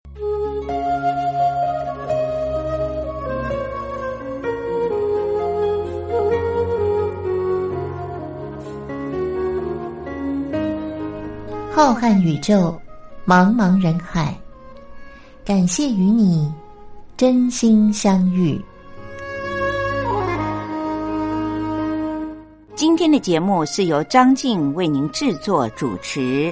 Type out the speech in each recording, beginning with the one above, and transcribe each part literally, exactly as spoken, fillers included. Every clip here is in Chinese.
浩瀚宇宙，茫茫人海，感谢与你真心相遇。 今天的节目是由张静为您制作主持。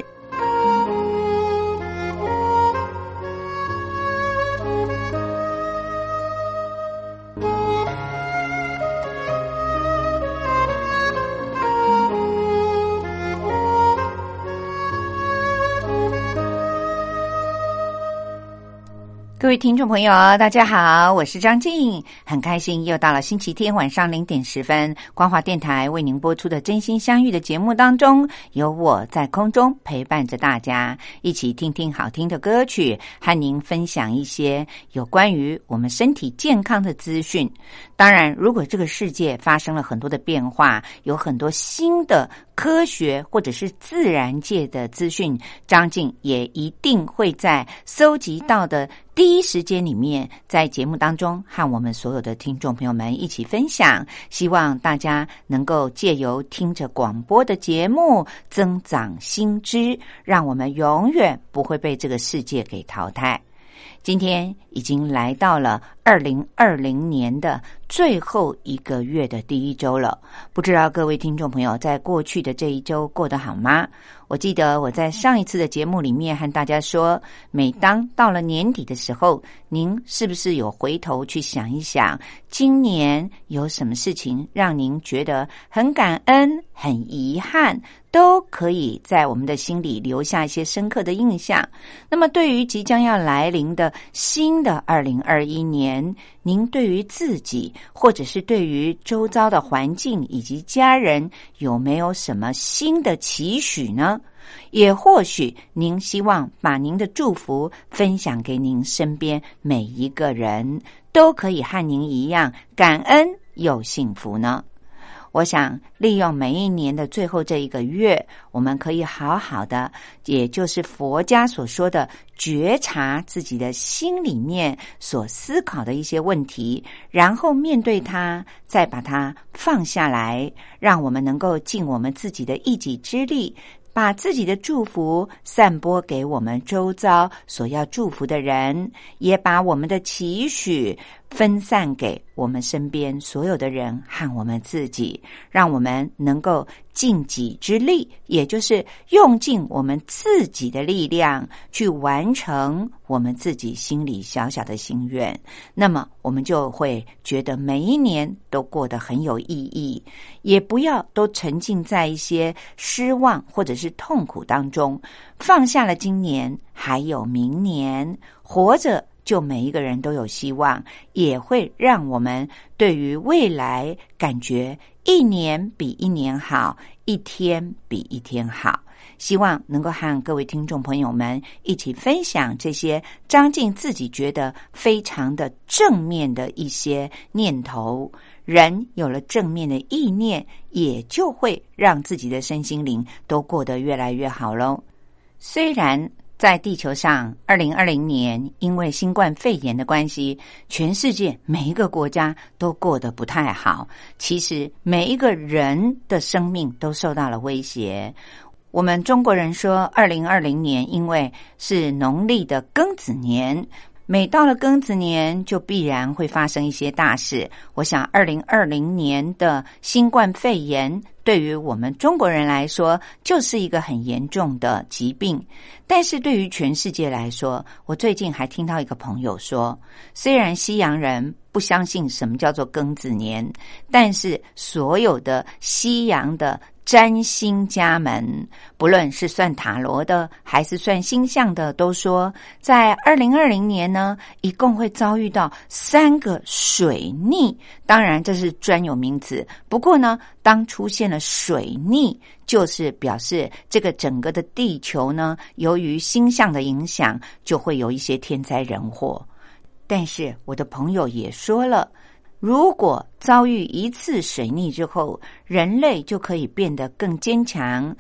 各位听众朋友大家好，我是张静，很开心又到了星期天晚上零点十分，光华电台为您播出的真心相遇的节目当中，有我在空中陪伴着大家，一起听听好听的歌曲，和您分享一些有关于我们身体健康的资讯。当然，如果这个世界发生了很多的变化，有很多新的科学或者是自然界的资讯，张静也一定会在搜集到的第一时间里面，在节目当中和我们所有的听众朋友们一起分享，希望大家能够借由听着广播的节目增长新知，让我们永远不会被这个世界给淘汰。今天已经来到了二零二零年的最后一个月的第一周了，不知道各位听众朋友在过去的这一周过得好吗？我记得我在上一次的节目里面和大家说，每当到了年底的时候，您是不是有回头去想一想，今年有什么事情让您觉得很感恩、很遗憾，都可以在我们的心里留下一些深刻的印象。那么对于即将要来临的新的二零二一年，您对于自己或者是对于周遭的环境以及家人有没有什么新的期许呢？也或许您希望把您的祝福分享给您身边每一个人，都可以和您一样感恩又幸福呢。我想利用每一年的最后这一个月，我们可以好好的，也就是佛家所说的觉察自己的心里面所思考的一些问题，然后面对它，再把它放下来，让我们能够尽我们自己的一己之力，把自己的祝福散播给我们周遭所要祝福的人，也把我们的期许分散给我们身边所有的人和我们自己，让我们能够尽己之力，也就是用尽我们自己的力量去完成我们自己心里小小的心愿。那么我们就会觉得每一年都过得很有意义，也不要都沉浸在一些失望或者是痛苦当中，放下了今年还有明年，活着就每一个人都有希望，也会让我们对于未来感觉一年比一年好，一天比一天好。希望能够和各位听众朋友们一起分享这些张静自己觉得非常的正面的一些念头。人有了正面的意念，也就会让自己的身心灵都过得越来越好咯。虽然在地球上二零二零年因为新冠肺炎的关系，全世界每一个国家都过得不太好，其实每一个人的生命都受到了威胁。我们中国人说二零二零年因为是农历的庚子年，每到了庚子年就必然会发生一些大事。我想二零二零年的新冠肺炎对于我们中国人来说就是一个很严重的疾病，但是对于全世界来说，我最近还听到一个朋友说，虽然西洋人不相信什么叫做庚子年，但是所有的西洋的占星家们，不论是算塔罗的还是算星象的，都说在二零二零年呢，一共会遭遇到三个水逆。当然这是专有名词，不过呢，当出现了水逆，就是表示这个整个的地球呢，由于星象的影响，就会有一些天灾人祸。但是我的朋友也说了，如果遭遇一次水逆之后，人类就可以变得更坚强，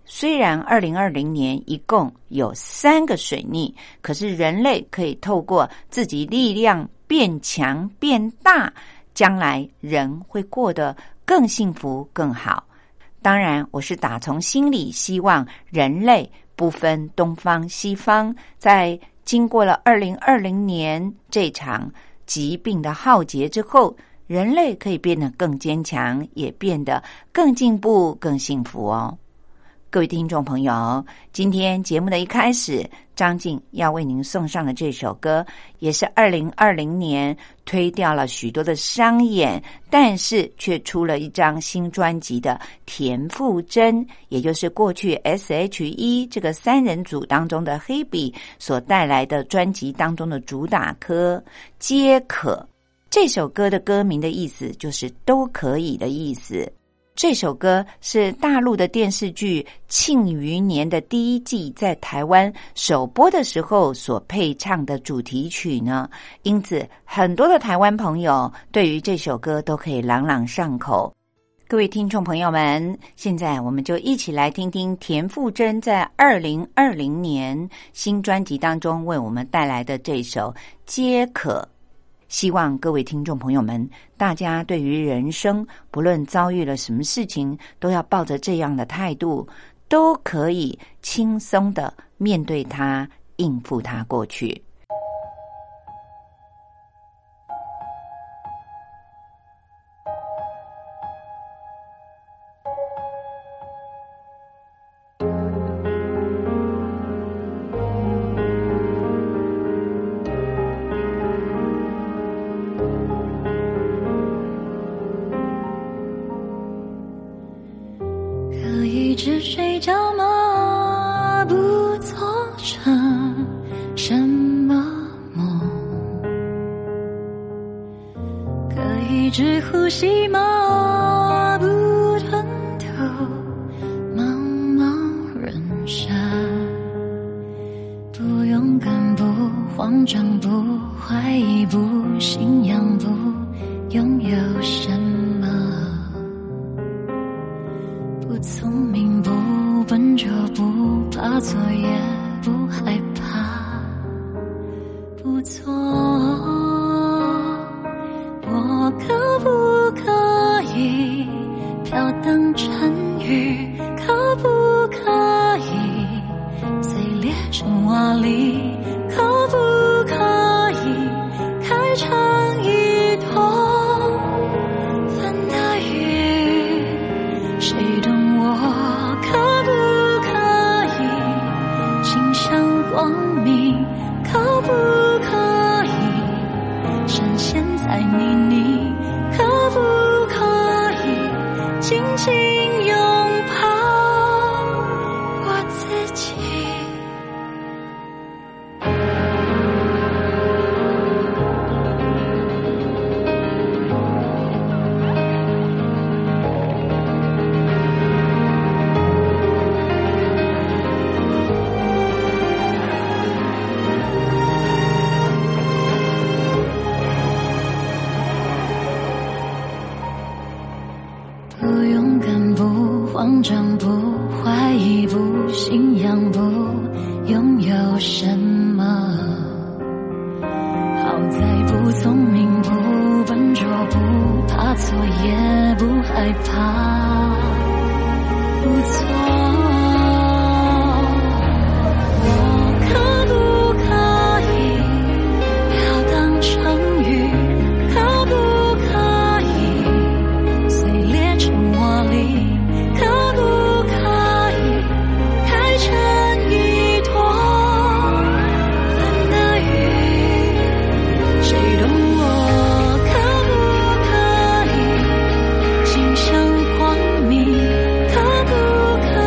虽然二零二零年一共有三个水逆，可是人类可以透过自己力量变强变大，将来人会过得更幸福更好。当然，我是打从心里希望人类不分东方西方，在经过了二零二零年这场疾病的浩劫之后，人类可以变得更坚强，也变得更进步更幸福哦。各位听众朋友，今天节目的一开始，张静要为您送上的这首歌，也是二零二零年推掉了许多的商演，但是却出了一张新专辑的田馥甄，也就是过去 S H E 这个三人组当中的黑笔所带来的专辑当中的主打歌《皆可》。这首歌的歌名的意思就是都可以的意思。这首歌是大陆的电视剧《庆余年》的第一季在台湾首播的时候所配唱的主题曲呢，因此很多的台湾朋友对于这首歌都可以朗朗上口。各位听众朋友们，现在我们就一起来听听田馥甄在二零二零年新专辑当中为我们带来的这首《皆可》。希望各位听众朋友们，大家对于人生不论遭遇了什么事情，都要抱着这样的态度，都可以轻松的面对它，应付它过去。 只睡觉吗？不做成什么梦？可以只呼吸吗？不吞吐茫茫人生。不勇敢，不慌张，不怀疑，不信仰，不拥有什么。不聪明，不笨拙，不怕错，也不害怕，不错。我可不可以飘荡成雨？可不可以碎裂成瓦砾？可不可以开成一朵粉的雨？谁懂我可不可以倾向光明？可不可以深陷在泥泞？可不可以紧紧拥抱我自己？慌张，不怀疑，不信仰，不拥有什么。好在不聪明，不笨拙，不怕错，也不害怕，不错。我可不可以飘荡成雨？可不可以碎裂成瓦砾？可不可以开成一朵粉的雨？谁懂我可不可以倾向光明？可不可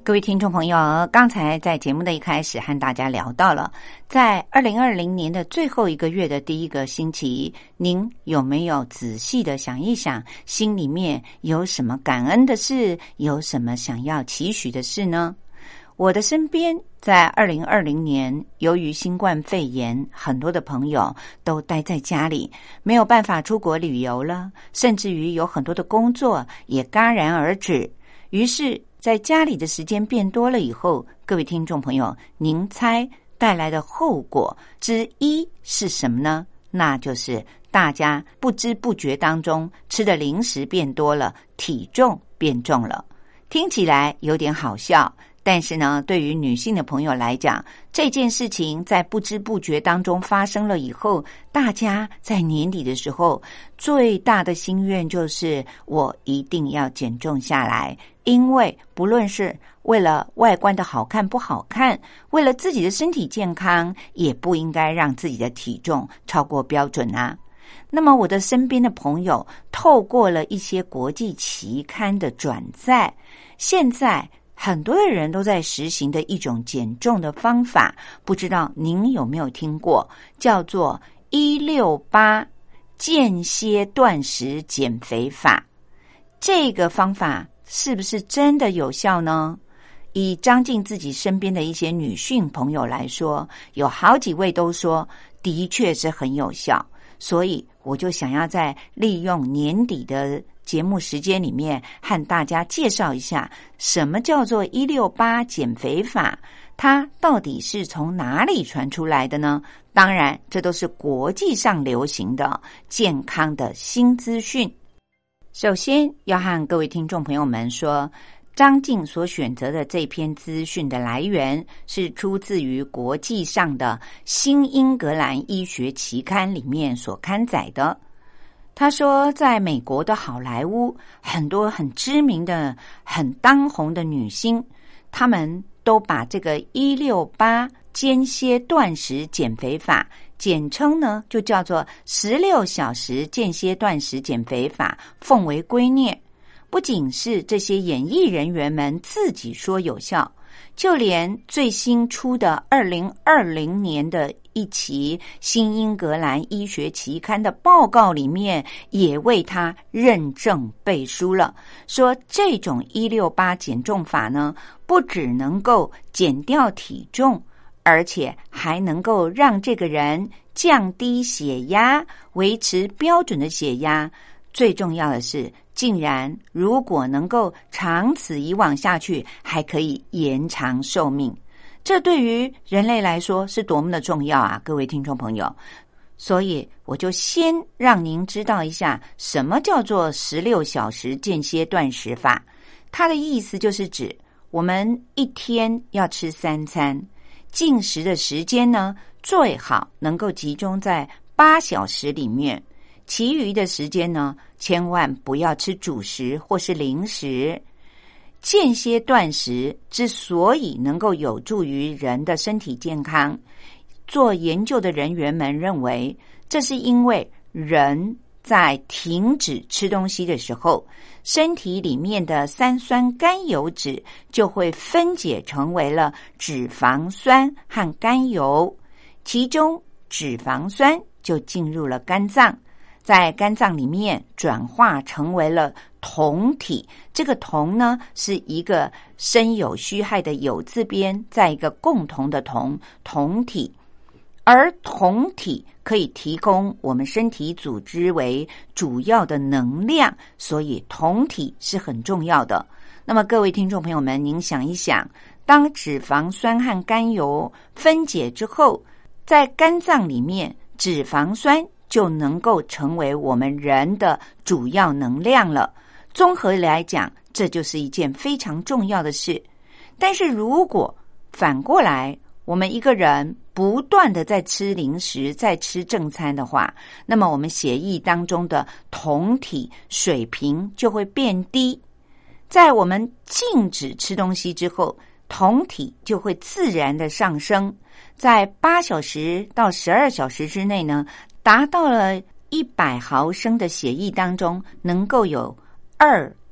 各位听众朋友，刚才在节目的一开始和大家聊到了，在二零二零年的最后一个月的第一个星期，您有没有仔细的想一想，心里面有什么感恩的事，有什么想要期许的事呢？我的身边在二零二零年，由于新冠肺炎，很多的朋友都待在家里，没有办法出国旅游了，甚至于有很多的工作也戛然而止。于是在家里的时间变多了以后，各位听众朋友，您猜带来的后果之一是什么呢？那就是大家不知不觉当中吃的零食变多了，体重变重了。听起来有点好笑，但是呢，对于女性的朋友来讲，这件事情在不知不觉当中发生了以后，大家在年底的时候最大的心愿就是我一定要减重下来，因为不论是为了外观的好看不好看，为了自己的身体健康，也不应该让自己的体重超过标准啊。那么我的身边的朋友透过了一些国际期刊的转载，现在很多的人都在实行的一种减重的方法，不知道您有没有听过，叫做一六八间歇断食减肥法。这个方法是不是真的有效呢？以张静自己身边的一些女性朋友来说，有好几位都说的确是很有效，所以我就想要在利用年底的节目时间里面和大家介绍一下什么叫做一六八减肥法，它到底是从哪里传出来的呢？当然这都是国际上流行的健康的新资讯。首先要和各位听众朋友们说，张静所选择的这篇资讯的来源是出自于国际上的新英格兰医学期刊里面所刊载的。他说在美国的好莱坞，很多很知名的很当红的女星，她们都把这个一六八间歇断食减肥法，简称呢就叫做十六小时间歇断食减肥法，奉为圭臬。不仅是这些演艺人员们自己说有效，就连最新出的二零二零年的一期新英格兰医学期刊的报告里面也为他认证背书了，说这种一六八减重法呢，不只能够减掉体重，而且还能够让这个人降低血压，维持标准的血压。最重要的是，竟然如果能够长此以往下去，还可以延长寿命。这对于人类来说是多么的重要啊，各位听众朋友。所以我就先让您知道一下什么叫做十六小时间歇断食法。它的意思就是指我们一天要吃三餐，进食的时间呢，最好能够集中在八小时里面，其余的时间呢，千万不要吃主食或是零食。间歇断食之所以能够有助于人的身体健康，做研究的人员们认为，这是因为人在停止吃东西的时候，身体里面的三酸甘油酯就会分解成为了脂肪酸和甘油，其中脂肪酸就进入了肝脏，在肝脏里面转化成为了酮体，这个酮呢是一个申有虚害的有字边，在一个共同的酮，酮体。而酮体可以提供我们身体组织为主要的能量，所以酮体是很重要的。那么各位听众朋友们，您想一想，当脂肪酸和甘油分解之后，在肝脏里面，脂肪酸就能够成为我们人的主要能量了。综合来讲，这就是一件非常重要的事。但是如果反过来，我们一个人不断的在吃零食，在吃正餐的话，那么我们血液当中的酮体水平就会变低。在我们禁止吃东西之后，酮体就会自然的上升，在八小时到十二小时之内呢，达到了一百毫升的血液当中能够有二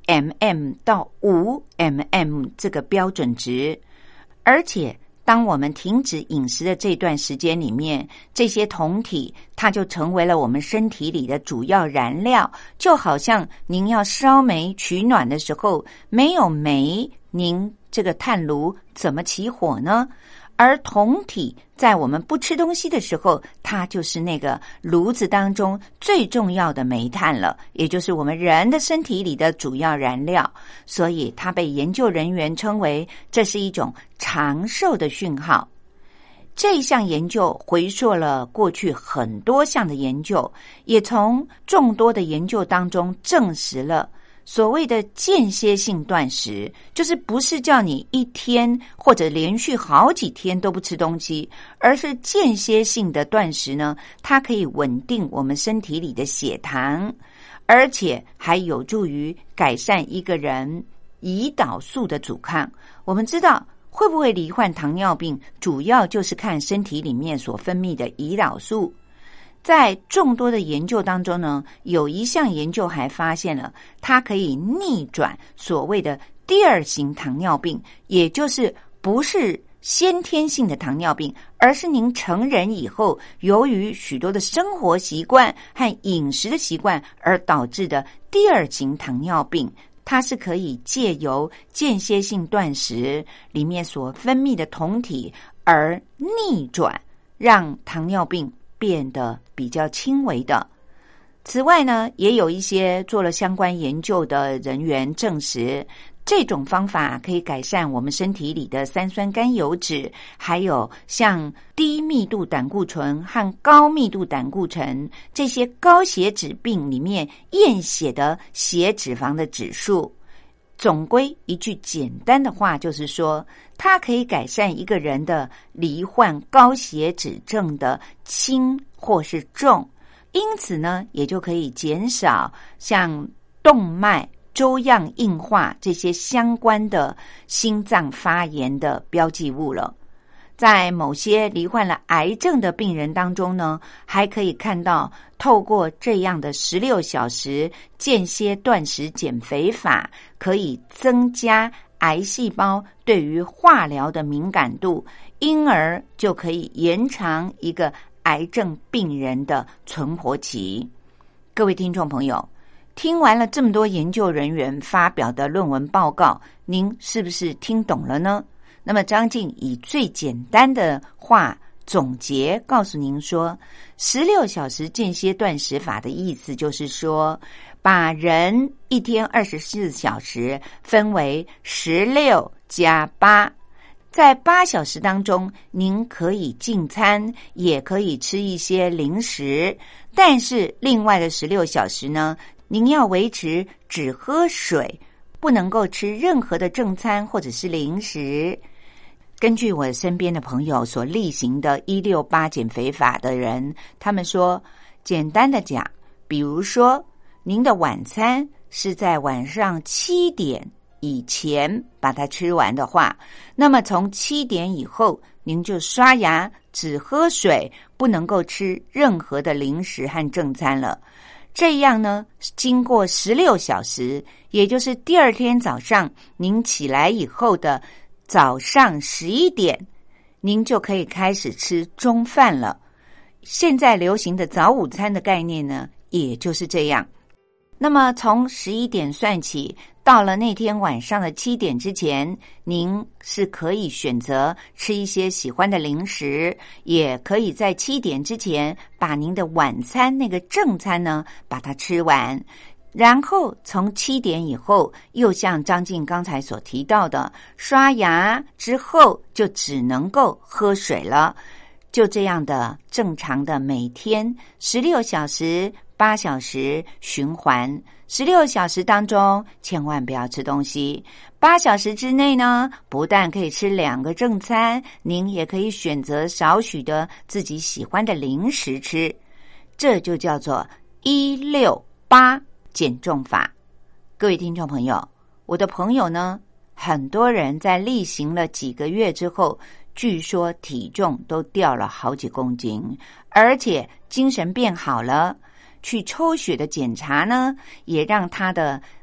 mmHg 到五 mmHg 这个标准值，而且当我们停止饮食的这段时间里面，这些酮体它就成为了我们身体里的主要燃料，就好像您要烧煤取暖的时候，没有煤，您这个炭炉怎么起火呢？而酮体在我们不吃东西的时候，它就是那个炉子当中最重要的煤炭了，也就是我们人的身体里的主要燃料，所以它被研究人员称为这是一种长寿的讯号。这一项研究回溯了过去很多项的研究，也从众多的研究当中证实了所谓的间歇性断食，就是不是叫你一天或者连续好几天都不吃东西，而是间歇性的断食呢，它可以稳定我们身体里的血糖，而且还有助于改善一个人胰岛素的阻抗。我们知道会不会罹患糖尿病，主要就是看身体里面所分泌的胰岛素。在众多的研究当中呢，有一项研究还发现了它可以逆转所谓的第二型糖尿病，也就是不是先天性的糖尿病，而是您成人以后由于许多的生活习惯和饮食的习惯而导致的第二型糖尿病。它是可以借由间歇性断食里面所分泌的酮体而逆转，让糖尿病变得比较轻微的。此外呢，也有一些做了相关研究的人员证实，这种方法可以改善我们身体里的三酸甘油脂，还有像低密度胆固醇和高密度胆固醇这些高血脂病里面验血的血脂肪的指数。总归一句简单的话，就是说它可以改善一个人的罹患高血脂症的轻或是重，因此呢，也就可以减少像动脉粥样硬化这些相关的心脏发炎的标记物了。在某些罹患了癌症的病人当中呢，还可以看到透过这样的十六小时间歇断食减肥法，可以增加癌细胞对于化疗的敏感度，因而就可以延长一个癌症病人的存活期。各位听众朋友，听完了这么多研究人员发表的论文报告，您是不是听懂了呢？那么张静以最简单的话总结告诉您说，十六小时间歇断食法的意思就是说，把人一天二十四小时分为十六加八，在八小时当中，您可以进餐，也可以吃一些零食，但是另外的十六小时呢，您要维持只喝水，不能够吃任何的正餐或者是零食。根据我身边的朋友所例行的一六八减肥法的人，他们说，简单的讲，比如说您的晚餐是在晚上七点以前把它吃完的话，那么从七点以后您就刷牙，只喝水，不能够吃任何的零食和正餐了。这样呢，经过十六小时，也就是第二天早上您起来以后的早上十一点，您就可以开始吃中饭了。现在流行的早午餐的概念呢，也就是这样。那么从十一点算起，到了那天晚上的七点之前，您是可以选择吃一些喜欢的零食，也可以在七点之前把您的晚餐那个正餐呢把它吃完。然后从七点以后，又像张静刚才所提到的，刷牙之后就只能够喝水了。就这样的正常的每天十六小时、八小时循环。十六小时当中千万不要吃东西，八小时之内呢，不但可以吃两个正餐，您也可以选择少许的自己喜欢的零食吃。这就叫做一六八减重法。各位听众朋友，我的朋友呢，很多人在例行了几个月之后，据说体重都掉了好几公斤，而且精神变好了。去抽血的检查呢，也让他的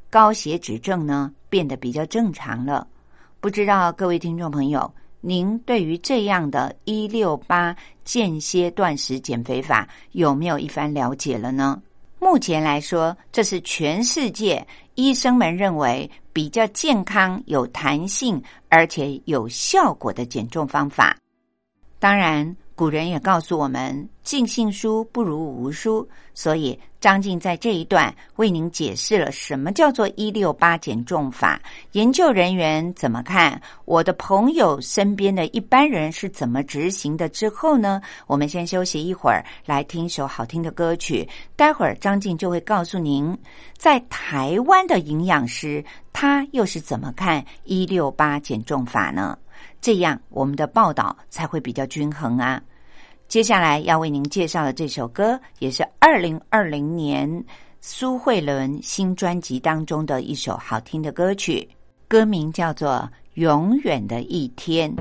高血脂症呢变得比较正常了。不知道各位听众朋友，您对于这样的一六八间歇断食减肥法有没有一番了解了呢？目前来说，这是全世界医生们认为比较健康、有弹性而且有效果的减重方法。当然古人也告诉我们，尽信书不如无书，所以张静在这一段为您解释了什么叫做一六八减重法，研究人员怎么看，我的朋友身边的一般人是怎么执行的之后呢，我们先休息一会儿，来听一首好听的歌曲。待会儿张静就会告诉您，在台湾的营养师他又是怎么看一六八减重法呢？这样我们的报道才会比较均衡啊。接下来要为您介绍的这首歌，也是二零二零年苏慧伦新专辑当中的一首好听的歌曲，歌名叫做《永远的一天》。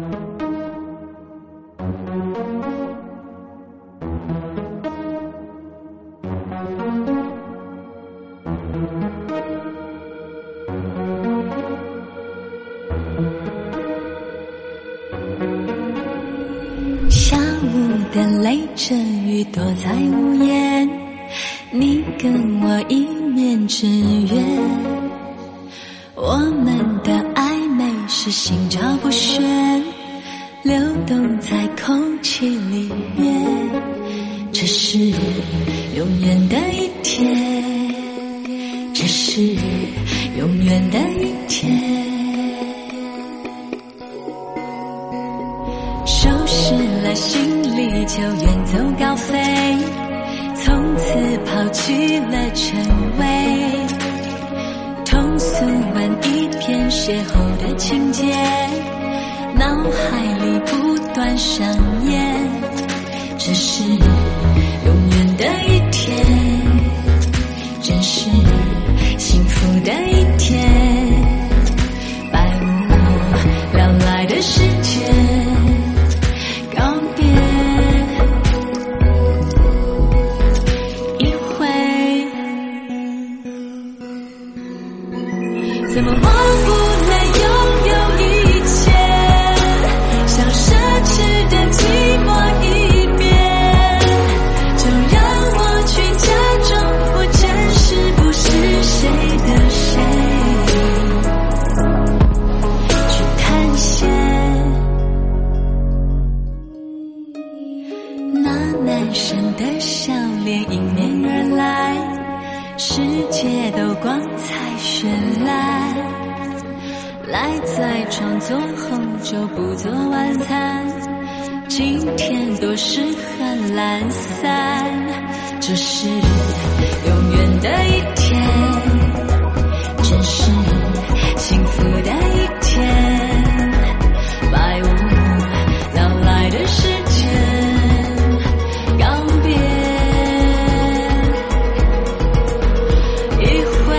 的泪着雨躲在屋檐，你跟我一面之缘，我们的暧昧是心照不宣，流动在空气里面，这是永远的一天，这是永远的一天。收拾了行李就远走高飞，从此抛弃了称谓，通俗完一篇邂逅的情节，脑海里不断上演，这是永远的一天，真是幸福的一天，百无聊赖的时间告别一回，怎么忘不了拥有一切，像奢侈的寂寞一遍，就让我去假装我真是不是谁的谁，去探险。男生的笑脸迎面而来，世界都光彩绚烂，赖在床做红酒不做晚餐，今天多适合懒散，这是永远的一天，真是幸福的一天，百无聊赖的时间告别一回，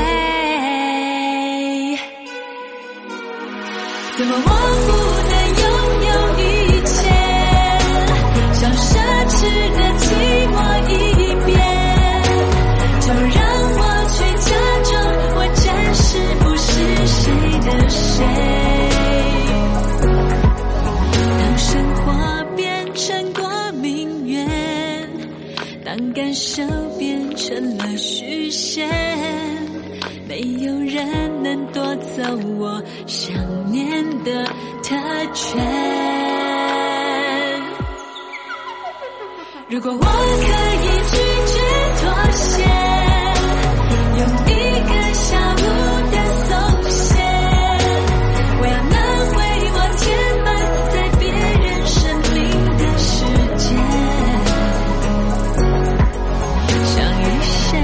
怎么忘不了拥有一切，像奢侈的寂寞一遍，就让我去假装我真是不是谁的谁，当生活变成过命运，当感受变成了虚线，没有人能夺走我想念的特权。如果我可以拒绝妥协，用一个下午的松懈，我要能为我填满在别人生命的时间，像一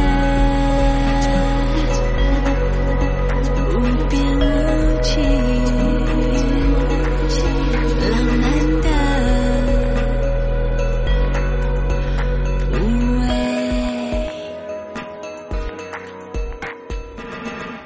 生无边无际浪漫的无畏。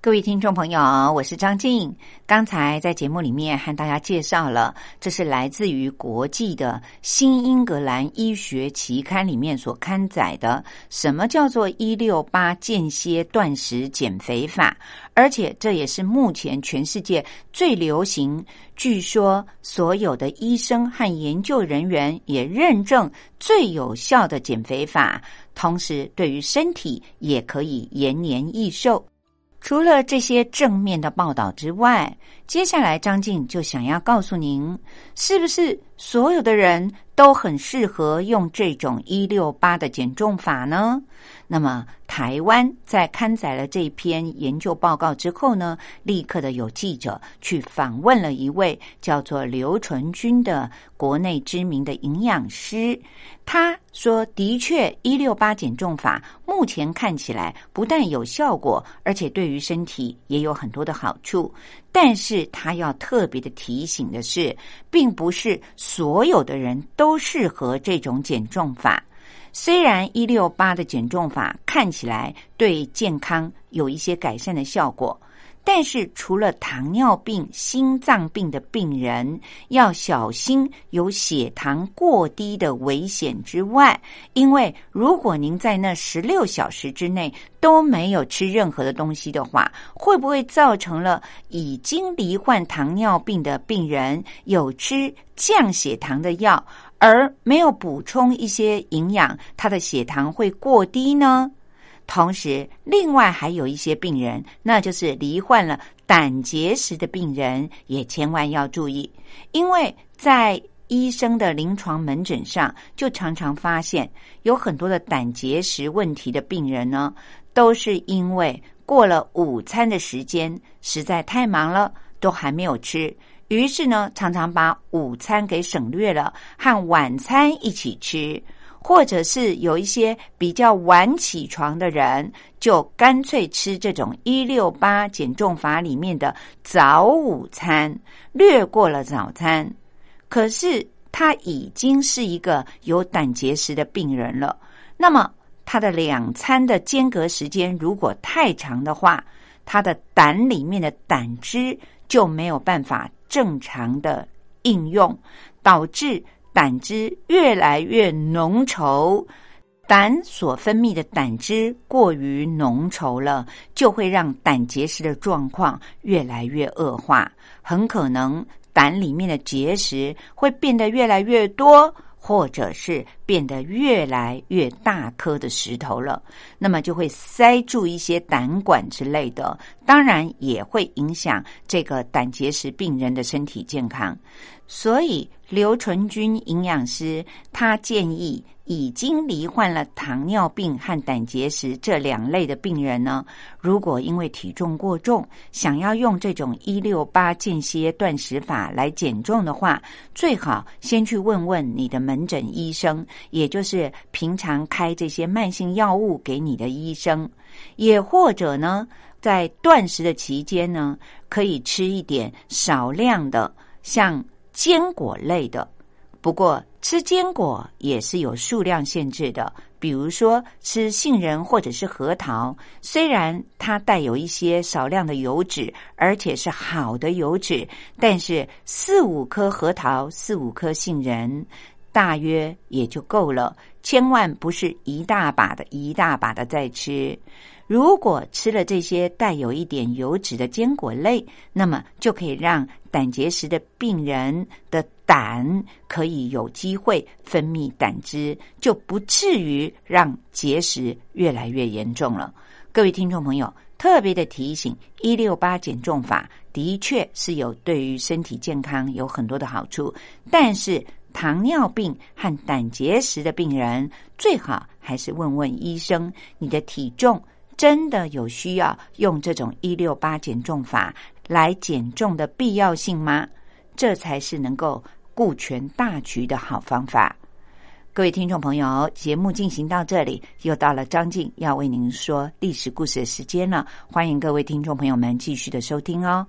各位听众朋友，我是张静。刚才在节目里面和大家介绍了，这是来自于国际的新英格兰医学期刊里面所刊载的，什么叫做一六八间歇断食减肥法，而且这也是目前全世界最流行，据说所有的医生和研究人员也认证最有效的减肥法，同时对于身体也可以延年益寿。除了这些正面的报道之外，接下来张静就想要告诉您，是不是所有的人都很适合用这种一六八的减重法呢？那么台湾在刊载了这篇研究报告之后呢，立刻的有记者去访问了一位叫做刘纯君的国内知名的营养师。他说的确一六八减重法目前看起来不但有效果，而且对于身体也有很多的好处，但是他要特别的提醒的是，并不是所有的人都适合这种减重法。虽然一六八的减重法看起来对健康有一些改善的效果，但是除了糖尿病、心脏病的病人要小心有血糖过低的危险之外，因为如果您在那十六小时之内都没有吃任何的东西的话，会不会造成了已经罹患糖尿病的病人有吃降血糖的药，而没有补充一些营养，他的血糖会过低呢？同时另外还有一些病人，那就是罹患了胆结石的病人，也千万要注意，因为在医生的临床门诊上就常常发现有很多的胆结石问题的病人呢，都是因为过了午餐的时间实在太忙了，都还没有吃，于是呢常常把午餐给省略了，和晚餐一起吃，或者是有一些比较晚起床的人，就干脆吃这种一六八减重法里面的早午餐，略过了早餐。可是他已经是一个有胆结石的病人了，那么他的两餐的间隔时间如果太长的话，他的胆里面的胆汁就没有办法正常的应用，导致胆汁越来越浓稠，胆所分泌的胆汁过于浓稠了，就会让胆结石的状况越来越恶化，很可能胆里面的结石会变得越来越多，或者是变得越来越大颗的石头了，那么就会塞住一些胆管之类的，当然也会影响这个胆结石病人的身体健康。所以刘纯君营养师他建议已经罹患了糖尿病和胆结石这两类的病人呢，如果因为体重过重想要用这种一六八间歇断食法来减重的话，最好先去问问你的门诊医生，也就是平常开这些慢性药物给你的医生，也或者呢在断食的期间呢，可以吃一点少量的像坚果类的，不过吃坚果也是有数量限制的，比如说吃杏仁或者是核桃，虽然它带有一些少量的油脂，而且是好的油脂，但是四五颗核桃、四五颗杏仁大约也就够了，千万不是一大把的一大把的再吃。如果吃了这些带有一点油脂的坚果类，那么就可以让胆结石的病人的胆可以有机会分泌胆汁，就不至于让结石越来越严重了。各位听众朋友，特别的提醒，一六八减重法的确是有对于身体健康有很多的好处，但是糖尿病和胆结石的病人最好还是问问医生，你的体重真的有需要用这种一六八减重法来减重的必要性吗？这才是能够顾全大局的好方法。各位听众朋友，节目进行到这里，又到了张静要为您说历史故事的时间了，欢迎各位听众朋友们继续的收听哦。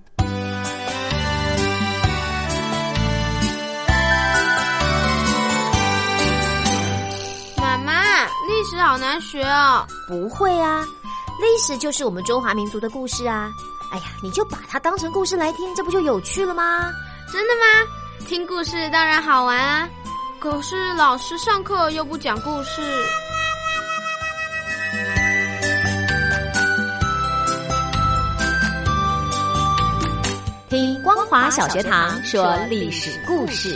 妈妈，历史好难学哦。 不会啊，历史就是我们中华民族的故事啊。 哎呀，你就把它当成故事来听，这不就有趣了吗？ 真的吗？听故事当然好玩啊，可是老师上课又不讲故事。 听光华小学堂说历史故事。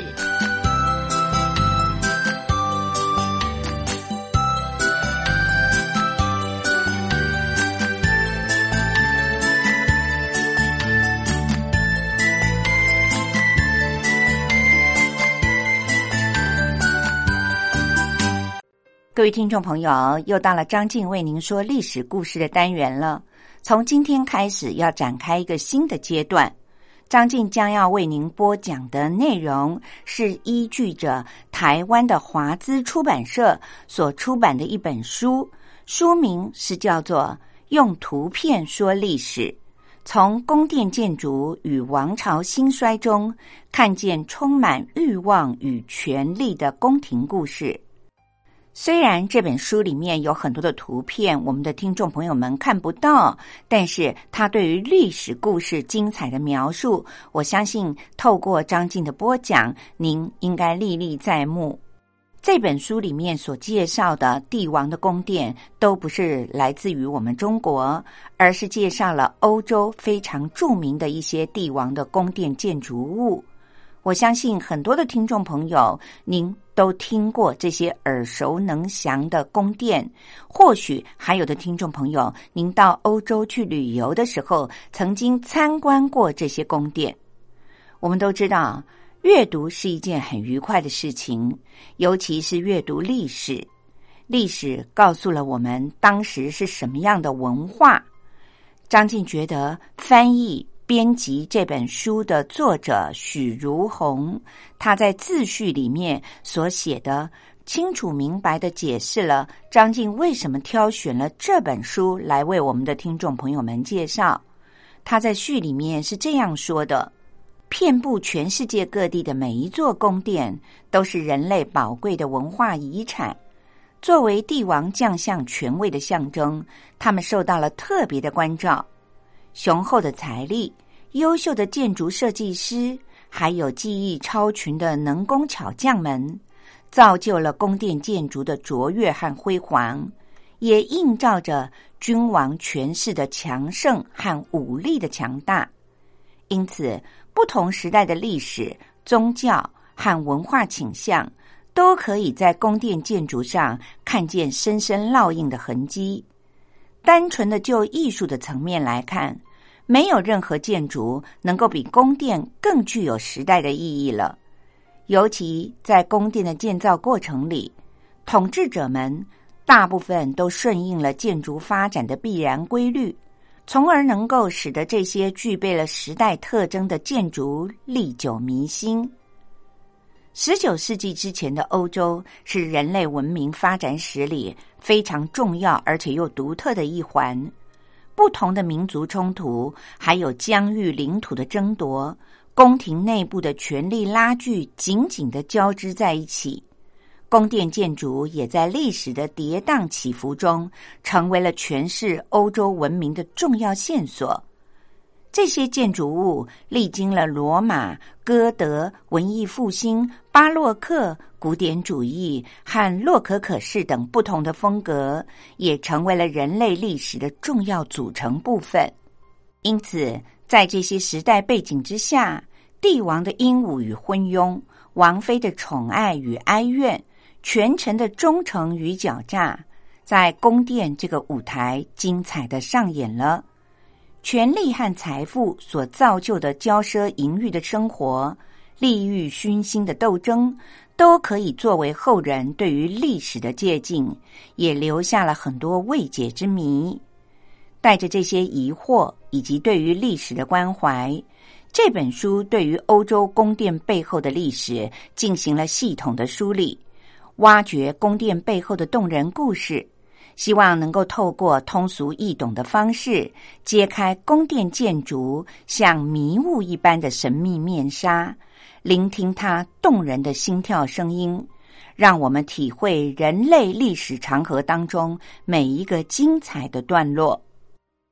各位听众朋友，又到了张静为您说历史故事的单元了。从今天开始要展开一个新的阶段，张静将要为您播讲的内容是依据着台湾的华资出版社所出版的一本书，书名是叫做《用图片说历史：从宫殿建筑与王朝兴衰中看见充满欲望与权力的宫廷故事》。虽然这本书里面有很多的图片，我们的听众朋友们看不到，但是它对于历史故事精彩的描述，我相信透过张静的播讲，您应该历历在目。这本书里面所介绍的帝王的宫殿，都不是来自于我们中国，而是介绍了欧洲非常著名的一些帝王的宫殿建筑物。我相信很多的听众朋友，您都听过这些耳熟能详的宫殿，或许还有的听众朋友，您到欧洲去旅游的时候，曾经参观过这些宫殿。我们都知道，阅读是一件很愉快的事情，尤其是阅读历史。历史告诉了我们当时是什么样的文化。张静觉得翻译编辑这本书的作者许如红，他在自序里面所写的清楚明白地解释了张静为什么挑选了这本书来为我们的听众朋友们介绍。他在序里面是这样说的：遍布全世界各地的每一座宫殿都是人类宝贵的文化遗产，作为帝王将相权位的象征，他们受到了特别的关照。雄厚的财力、优秀的建筑设计师，还有技艺超群的能工巧匠们，造就了宫殿建筑的卓越和辉煌，也映照着君王权势的强盛和武力的强大。因此，不同时代的历史、宗教和文化倾向，都可以在宫殿建筑上看见深深烙印的痕迹。单纯的就艺术的层面来看，没有任何建筑能够比宫殿更具有时代的意义了。尤其在宫殿的建造过程里，统治者们大部分都顺应了建筑发展的必然规律，从而能够使得这些具备了时代特征的建筑历久弥新。十九世纪之前的欧洲是人类文明发展史里非常重要而且又独特的一环。不同的民族冲突，还有疆域领土的争夺，宫廷内部的权力拉锯紧紧地交织在一起。宫殿建筑也在历史的跌宕起伏中，成为了诠释欧洲文明的重要线索。这些建筑物历经了罗马、哥德、文艺复兴、巴洛克、古典主义和洛可可式等不同的风格，也成为了人类历史的重要组成部分。因此，在这些时代背景之下，帝王的英武与昏庸，王妃的宠爱与哀怨，权臣的忠诚与狡诈，在宫殿这个舞台精彩地上演了。权力和财富所造就的骄奢淫欲的生活，利欲熏心的斗争，都可以作为后人对于历史的借鉴，也留下了很多未解之谜。带着这些疑惑以及对于历史的关怀，这本书对于欧洲宫殿背后的历史进行了系统的梳理，挖掘宫殿背后的动人故事，希望能够透过通俗易懂的方式，揭开宫殿建筑像迷雾一般的神秘面纱，聆听它动人的心跳声音，让我们体会人类历史长河当中每一个精彩的段落。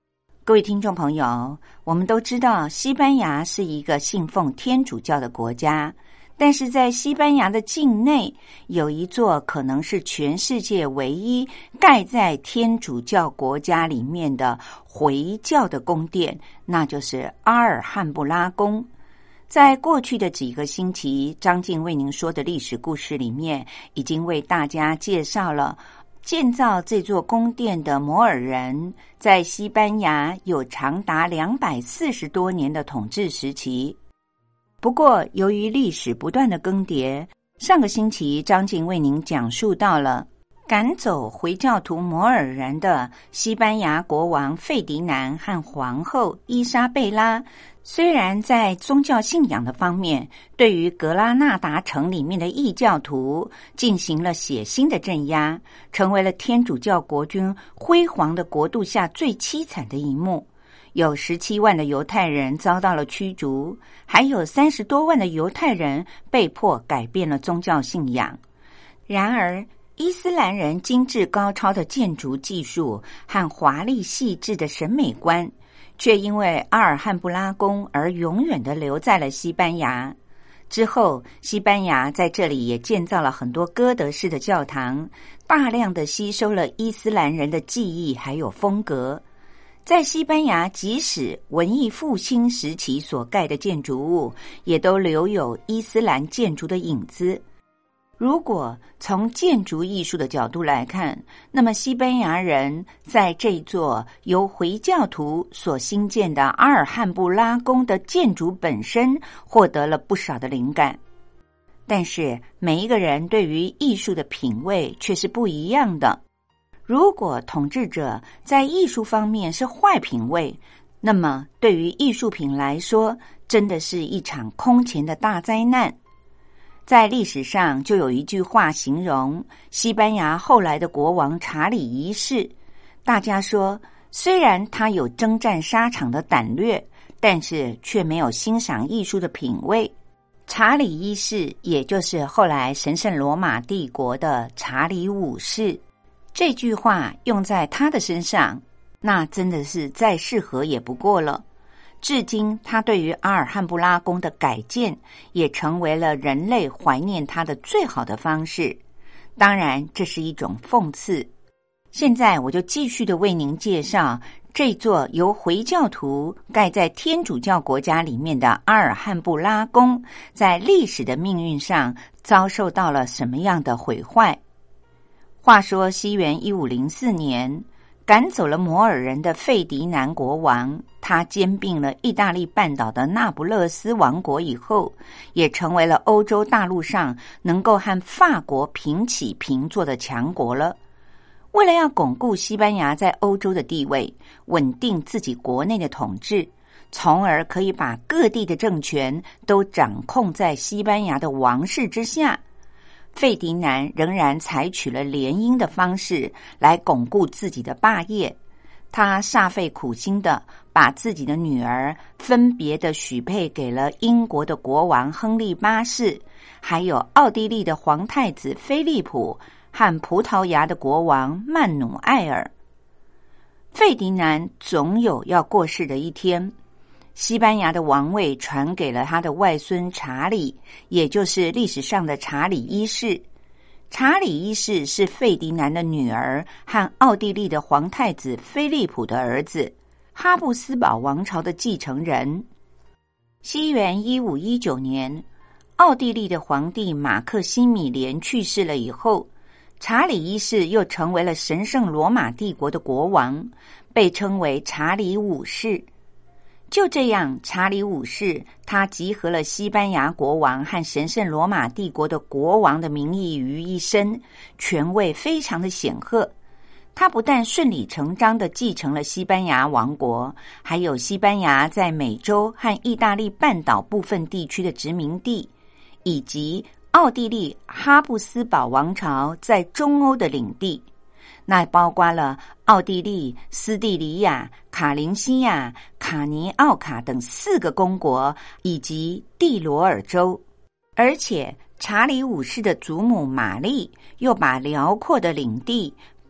各位听众朋友，我们都知道西班牙是一个信奉天主教的国家，但是在西班牙的境内有一座可能是全世界唯一盖在天主教国家里面的回教的宫殿，那就是阿尔汉布拉宫。在过去的几个星期，张静为您说的历史故事里面，已经为大家介绍了建造这座宫殿的摩尔人在西班牙有长达两百四十多年的统治时期。不过由于历史不断的更迭，上个星期张静为您讲述到了赶走回教徒摩尔人的西班牙国王费迪南和皇后伊莎贝拉，虽然在宗教信仰的方面对于格拉纳达城里面的异教徒进行了血腥的镇压，成为了天主教国军辉煌的国度下最凄惨的一幕。有十七万的犹太人遭到了驱逐，还有三十多万的犹太人被迫改变了宗教信仰。然而伊斯兰人精致高超的建筑技术和华丽细致的审美观，却因为阿尔汉布拉宫而永远地留在了西班牙。之后，西班牙在这里也建造了很多哥德式的教堂，大量地吸收了伊斯兰人的技艺还有风格。在西班牙，即使文艺复兴时期所盖的建筑物，也都留有伊斯兰建筑的影子。如果从建筑艺术的角度来看，那么西班牙人在这座由回教徒所兴建的阿尔汉布拉宫的建筑本身获得了不少的灵感。但是每一个人对于艺术的品味却是不一样的。如果统治者在艺术方面是坏品味，那么对于艺术品来说，真的是一场空前的大灾难。在历史上就有一句话形容西班牙后来的国王查理一世，大家说虽然他有征战沙场的胆略，但是却没有欣赏艺术的品味。查理一世也就是后来神圣罗马帝国的查理五世，这句话用在他的身上，那真的是再适合也不过了。至今他对于阿尔汉布拉宫的改建也成为了人类怀念他的最好的方式。当然这是一种讽刺。现在我就继续的为您介绍这座由回教徒盖在天主教国家里面的阿尔汉布拉宫在历史的命运上遭受到了什么样的毁坏。话说西元一五零四年，赶走了摩尔人的费迪南国王，他兼并了意大利半岛的那不勒斯王国以后，也成为了欧洲大陆上能够和法国平起平坐的强国了。为了要巩固西班牙在欧洲的地位，稳定自己国内的统治，从而可以把各地的政权都掌控在西班牙的王室之下，费迪南仍然采取了联姻的方式来巩固自己的霸业。他煞费苦心的把自己的女儿分别的许配给了英国的国王亨利八世，还有奥地利的皇太子菲利普和葡萄牙的国王曼努埃尔。费迪南总有要过世的一天，西班牙的王位传给了他的外孙查理，也就是历史上的查理一世。查理一世是费迪南的女儿和奥地利的皇太子菲利普的儿子，哈布斯堡王朝的继承人。西元一五一九年，奥地利的皇帝马克西米连去世了以后，查理一世又成为了神圣罗马帝国的国王，被称为查理五世。就这样，查理五世他集合了西班牙国王和神圣罗马帝国的国王的名义于一身，权位非常的显赫。他不但顺理成章地继承了西班牙王国，还有西班牙在美洲和意大利半岛部分地区的殖民地，以及奥地利哈布斯堡王朝在中欧的领地。那包括了奥地利、斯蒂里亚、卡林西亚、卡尼奥卡等四个公国，以及蒂罗尔州。而且查理五世的祖母玛丽又把辽阔的领地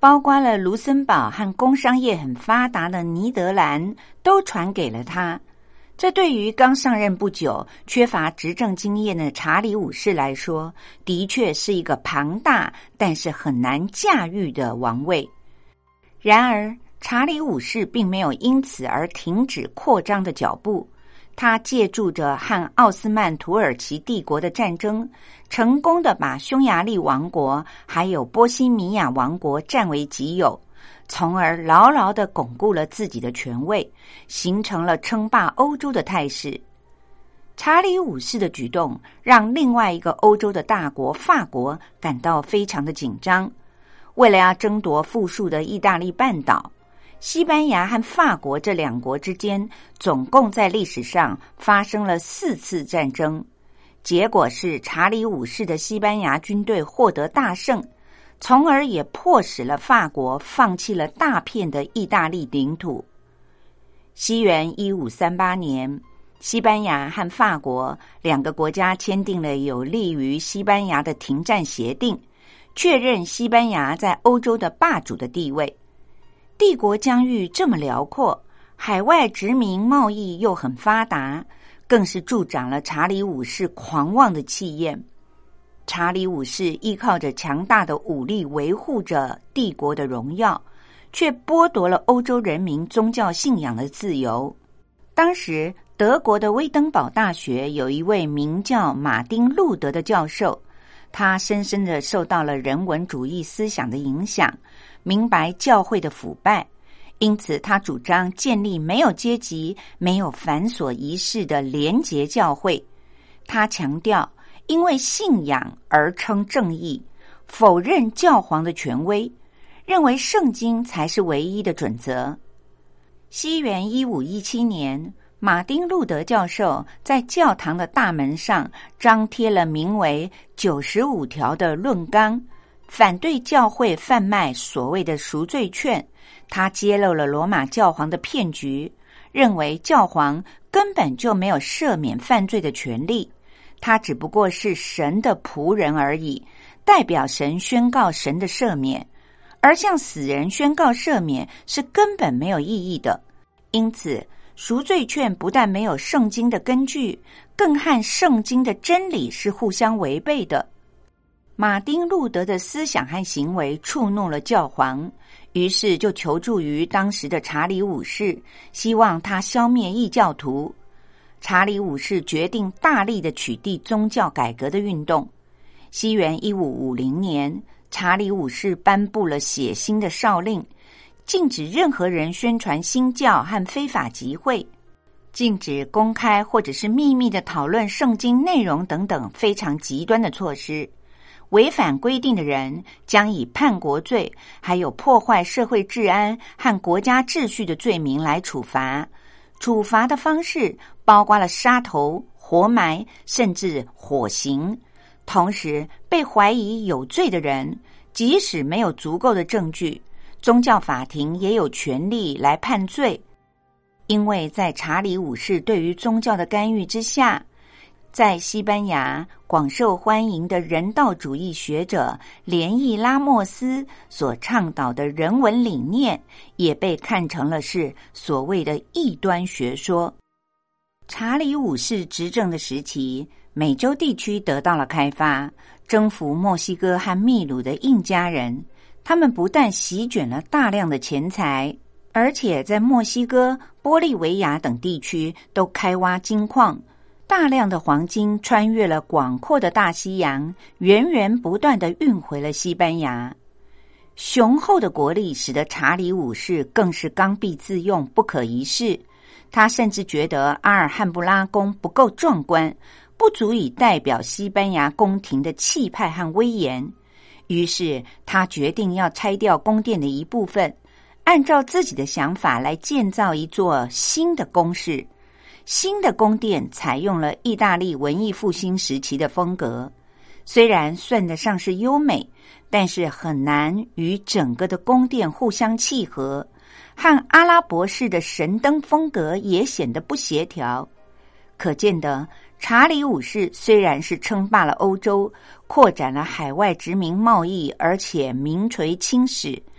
包括了卢森堡和工商业很发达的尼德兰，都传给了他。这对于刚上任不久、缺乏执政经验的查理五世来说，的确是一个庞大但是很难驾驭的王位。然而，查理五世并没有因此而停止扩张的脚步。他借助着和奥斯曼土耳其帝国的战争，成功的把匈牙利王国还有波西米亚王国占为己有，从而牢牢地巩固了自己的权位，形成了称霸欧洲的态势。查理五世的举动让另外一个欧洲的大国法国感到非常的紧张。为了要争夺富庶的意大利半岛，西班牙和法国这两国之间总共在历史上发生了四次战争，结果是查理五世的西班牙军队获得大胜，从而也迫使了法国放弃了大片的意大利领土。西元一五三八年，西班牙和法国两个国家签订了有利于西班牙的停战协定，确认西班牙在欧洲的霸主的地位。帝国疆域这么辽阔，海外殖民贸易又很发达，更是助长了查理五世狂妄的气焰。查理五世依靠着强大的武力维护着帝国的荣耀，却剥夺了欧洲人民宗教信仰的自由。当时德国的威登堡大学有一位名叫马丁·路德的教授，他深深地受到了人文主义思想的影响，明白教会的腐败，因此他主张建立没有阶级、没有繁琐仪式的廉洁教会。他强调因为信仰而称正义，否认教皇的权威，认为圣经才是唯一的准则。西元一五一七年，马丁·路德教授在教堂的大门上张贴了名为九十五条的论纲，反对教会贩卖所谓的赎罪券。他揭露了罗马教皇的骗局，认为教皇根本就没有赦免犯罪的权利，他只不过是神的仆人而已，代表神宣告神的赦免，而向死人宣告赦免是根本没有意义的。因此赎罪券不但没有圣经的根据，更和圣经的真理是互相违背的。马丁·路德的思想和行为触怒了教皇，于是就求助于当时的查理五世，希望他消灭异教徒。查理五世决定大力的取缔宗教改革的运动。西元一五五零年，查理五世颁布了血腥的诏令，禁止任何人宣传新教和非法集会，禁止公开或者是秘密的讨论圣经内容等等非常极端的措施。违反规定的人将以叛国罪还有破坏社会治安和国家秩序的罪名来处罚。处罚的方式包括了杀头、活埋甚至火刑。同时被怀疑有罪的人，即使没有足够的证据，宗教法庭也有权利来判罪。因为在查理五世对于宗教的干预之下，在西班牙广受欢迎的人道主义学者连义拉莫斯所倡导的人文理念，也被看成了是所谓的异端学说。查理五世执政的时期，美洲地区得到了开发，征服墨西哥和秘鲁的印加人，他们不但席卷了大量的钱财，而且在墨西哥、玻利维亚等地区都开挖金矿，大量的黄金穿越了广阔的大西洋，源源不断地运回了西班牙。雄厚的国力使得查理五世更是刚愎自用，不可一世。他甚至觉得阿尔汉布拉宫不够壮观，不足以代表西班牙宫廷的气派和威严。于是他决定要拆掉宫殿的一部分，按照自己的想法来建造一座新的宫室。新的宫殿采用了意大利文艺复兴时期的风格，虽然算得上是优美，但是很难与整个的宫殿互相契合，和阿拉伯式的神灯风格也显得不协调。可见得查理五世虽然是称霸了欧洲，扩展了海外殖民贸易，而且名垂青史，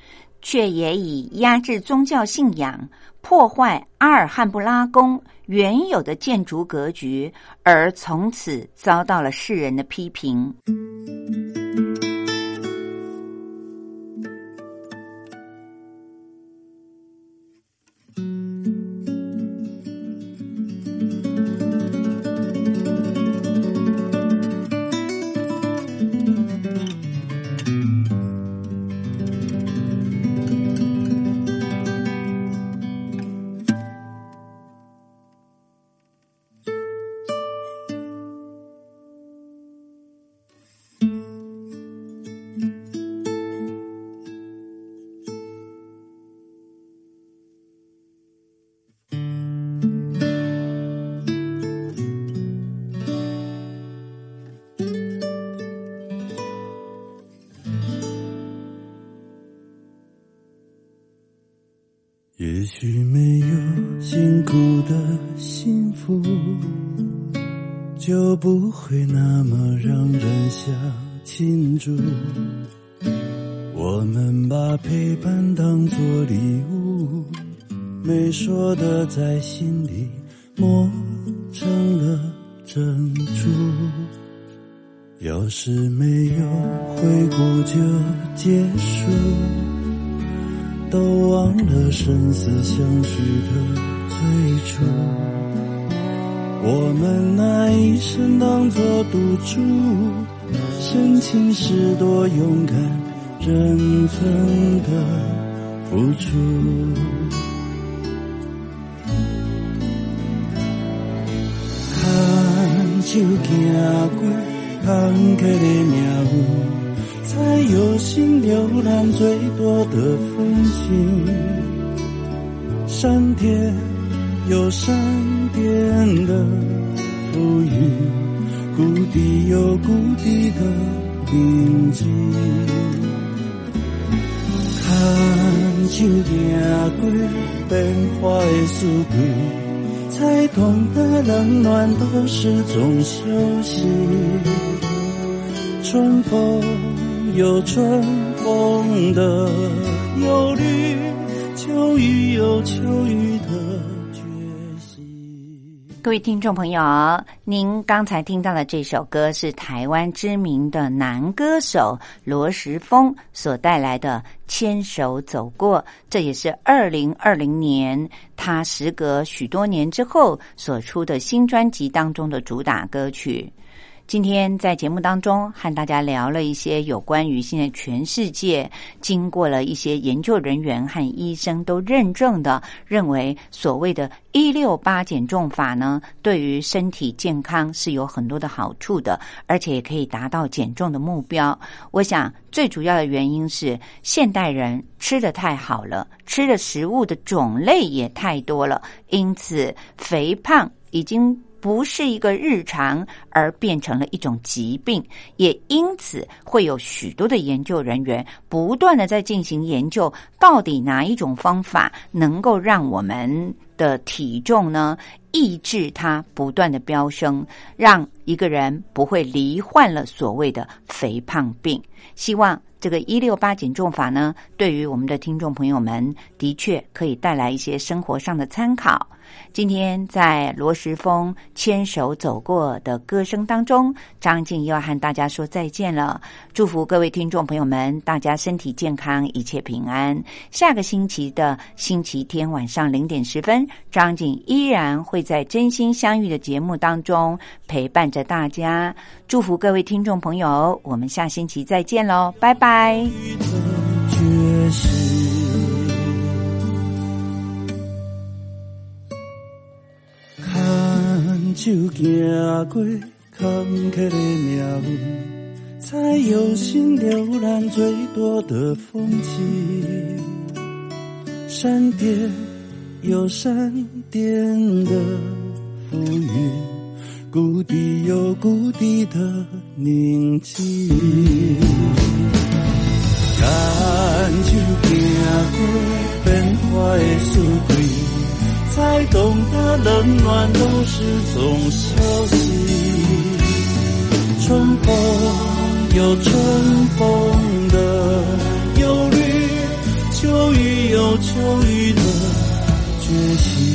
却也以压制宗教信仰、破坏阿尔汉布拉宫原有的建筑格局，而从此遭到了世人的批评。 也许没有辛苦的幸福，就不会那么让人想庆祝。我们把陪伴当作礼物，没说的在心里磨成了珍珠。要是没有回顾就结束，都忘了生死相许的最初。我们拿一生当作赌注，深情是多勇敢，认真的付出。看手行过坎坷的命运，才有心浏览最多的风景。闪电有闪电的浮云，谷底有谷底的宁静。看手行过变化的四季，才懂得冷暖都是种修行。春风有春风的忧虑，秋雨有秋雨的决心。 各位听众朋友，您刚才听到的这首歌是台湾知名的男歌手罗时丰所带来的《牵手走过》，这也是二零二零年他时隔许多年之后所出的新专辑当中的主打歌曲。今天在节目当中和大家聊了一些有关于现在全世界经过了一些研究人员和医生都认证的，认为所谓的一六八减重法呢，对于身体健康是有很多的好处的，而且也可以达到减重的目标。我想最主要的原因是现代人吃得太好了，吃的食物的种类也太多了，因此肥胖已经不是一个日常，而变成了一种疾病，也因此会有许多的研究人员不断的在进行研究，到底哪一种方法能够让我们的体重呢抑制它不断的飙升，让一个人不会罹患了所谓的肥胖病。希望这个一六八减重法呢，对于我们的听众朋友们的确可以带来一些生活上的参考。今天在罗时丰牵手走过的歌声当中，张静又要和大家说再见了。祝福各位听众朋友们，大家身体健康，一切平安。下个星期的星期天晚上零点十分，张静依然会在真心相遇的节目当中陪伴着大家。祝福各位听众朋友，我们下星期再见咯，拜拜。 看手行过坎坷的命运，才有心浏览最多的风景。闪电有闪电的浮云，谷底有谷底的宁静。看手行过变化的四季，才懂得冷暖都是种消息。春风有春风的忧虑，秋有求雨的决心。